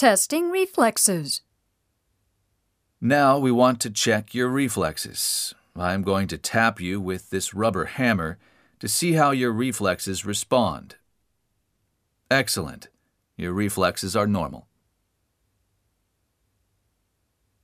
Testing reflexes. Now we want to check your reflexes. I'm going to tap you with this rubber hammer to see how your reflexes respond. Excellent. Your reflexes are normal.